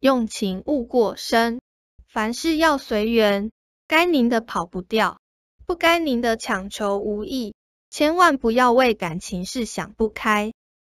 用情勿过深，凡事要随缘，该拧的跑不掉，不该拧的强求无益，千万不要为感情事想不开。